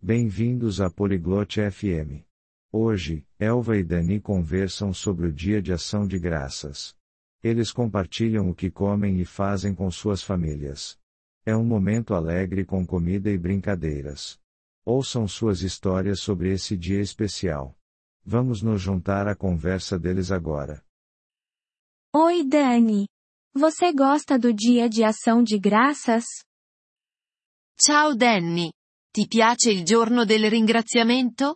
Bem-vindos à Poliglote FM. Hoje, Elva e Dani conversam sobre o Dia de Ação de Graças. Eles compartilham o que comem e fazem com suas famílias. É um momento alegre com comida e brincadeiras. Ouçam suas histórias sobre esse dia especial. Vamos nos juntar à conversa deles agora. Oi, Dani. Você gosta do Dia de Ação de Graças? Ciao Danny. Ti piace il giorno del ringraziamento?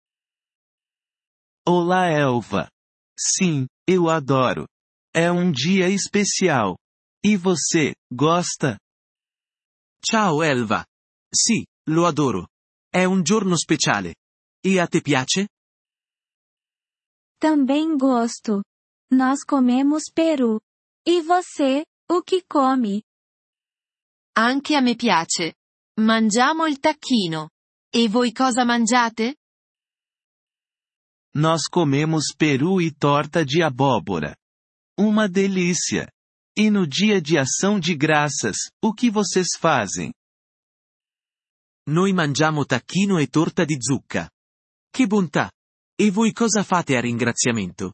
Olá, Elva. Sim, eu adoro. É um dia especial. E você, gosta? Ciao Elva. Sì, lo adoro. È un giorno speciale. E a te piace? Também gosto. Nós comemos peru. E você, o que come? Anche a me piace. Mangiamo il tacchino. E voi cosa mangiate? Nós comemos peru e torta de abóbora. Uma delícia! E no dia de ação de graças, o que vocês fazem? Noi mangiamo tacchino e torta di zucca. Che bontà! E voi cosa fate a ringraziamento?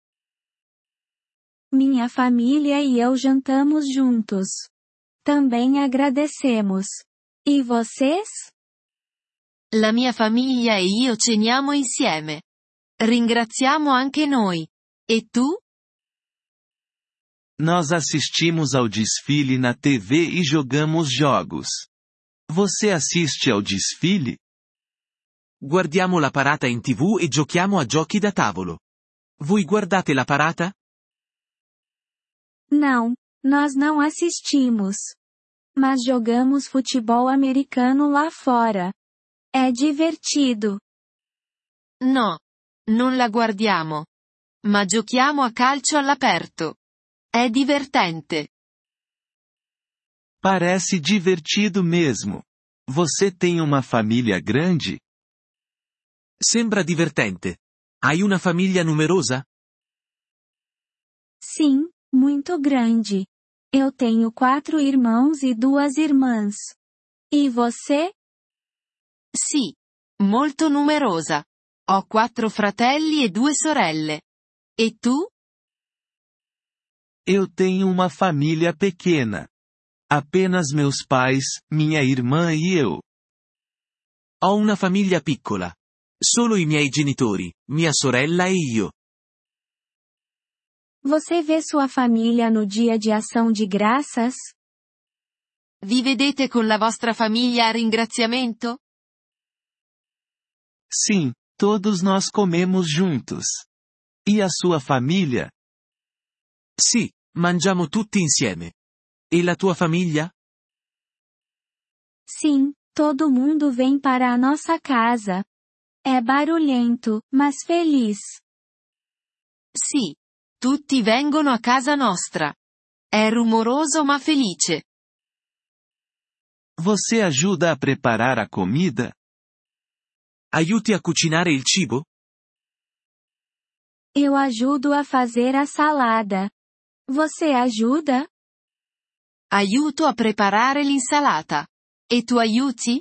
Minha família e eu jantamos juntos. Também agradecemos. E vocês? La mia famiglia e io ceniamo insieme. Ringraziamo anche noi. E tu? Nós assistimos ao desfile na TV e jogamos jogos. Você assiste ao desfile? Guardiamo la parata in TV e giochiamo a giochi da tavolo. Voi guardate la parata? Não, nós não assistimos. Mas jogamos futebol americano lá fora. É divertido. No. Non la guardiamo. Ma giochiamo a calcio all'aperto. È divertente. Parece divertido mesmo. Você tem uma família grande? Sembra divertente. Hai una famiglia numerosa? Sim, muito grande. Eu tenho 4 irmãos e 2 irmãs. E você? Sì. Molto numerosa. Ho 4 fratelli e 2 sorelle. E tu? Eu tenho uma família pequena. Apenas meus pais, minha irmã e eu. Ho una famiglia piccola. Solo i miei genitori, mia sorella e io. Você vê sua família no Dia de Ação de Graças? Vi vedete con la vostra famiglia a ringraziamento? Sim, todos nós comemos juntos. E a sua família? Sì, mangiamo tutti insieme. E la tua famiglia? Sim, todo mundo vem para a nossa casa. É barulhento, mas feliz. Sì. Tutti vengono a casa nostra. È rumoroso ma felice. Você ajuda a preparar a comida? Aiuti a cucinare il cibo? Eu ajudo a fazer a salada. Você ajuda? Aiuto a preparare l'insalata. E tu aiuti?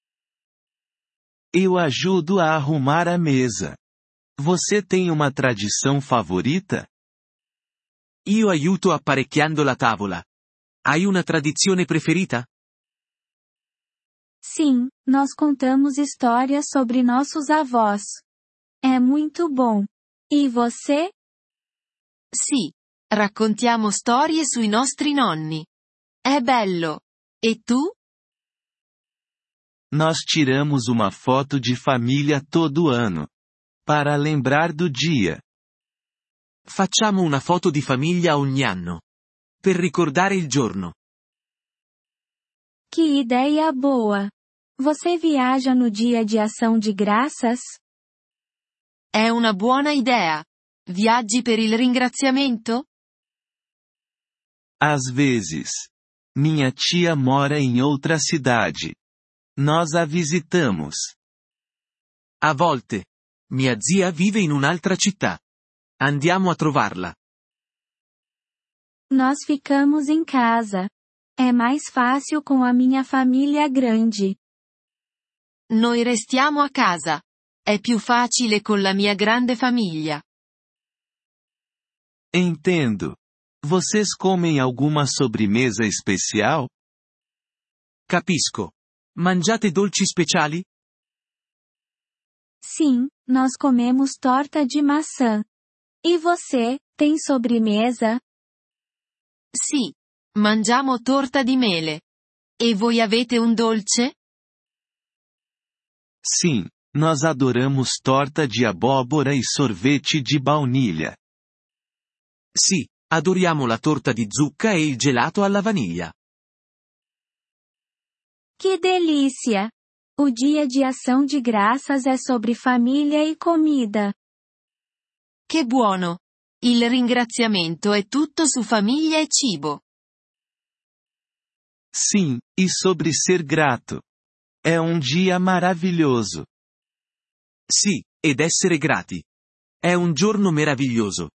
Eu ajudo a arrumar a mesa. Você tem uma tradição favorita? Io aiuto apparecchiando la tavola. Hai una tradizione preferita? Sim, nós contamos histórias sobre nossos avós. É muito bom. E você? Sì. Raccontiamo storie sui nostri nonni. È bello. E tu? Nós tiramos uma foto de família todo ano. Para lembrar do dia. Facciamo una foto di famiglia ogni anno. Per ricordare il giorno. Que ideia boa! Você viaja no Dia de Ação de Graças? È una buona idea. Viaggi per il ringraziamento? Às vezes. Minha tia mora em outra cidade. Nós a visitamos. A volte. Mia zia vive in un'altra città. Andiamo a trovarla. Nós ficamos em casa. É mais fácil com a minha família grande. Noi restiamo a casa. È più facile con la mia grande famiglia. Entendo. Vocês comem alguma sobremesa especial? Capisco. Mangiate dolci speciali? Sim, nós comemos torta de maçã. E você, tem sobremesa? Sì. Mangiamo torta di mele. E voi avete un dolce? Sim, nós adoramos torta de abóbora e sorvete de baunilha. Sì, adoriamo la torta di zucca e il gelato alla vaniglia. Que delícia! O Dia de Ação de Graças é sobre família e comida. Che buono! Il ringraziamento è tutto su famiglia e cibo. Sim, e sobre ser grato. É um dia maravilhoso. Sì, ed essere grati. È un giorno meraviglioso.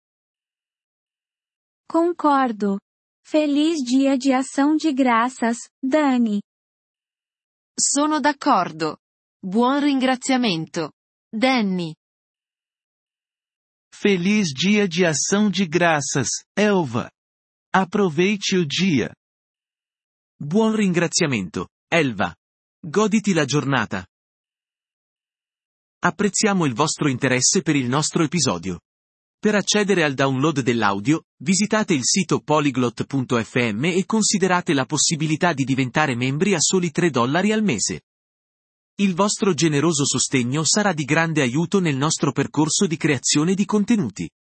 Concordo. Feliz Dia de Ação de Graças, Dani. Sono d'accordo. Buon ringraziamento. Danny. Feliz Dia de Ação de Graças, Elva. Aproveite o dia. Buon ringraziamento, Elva. Goditi la giornata. Apprezziamo il vostro interesse per il nostro episodio. Per accedere al download dell'audio, visitate il sito polyglot.fm e considerate la possibilità di diventare membri a soli $3 al mese. Il vostro generoso sostegno sarà di grande aiuto nel nostro percorso di creazione di contenuti.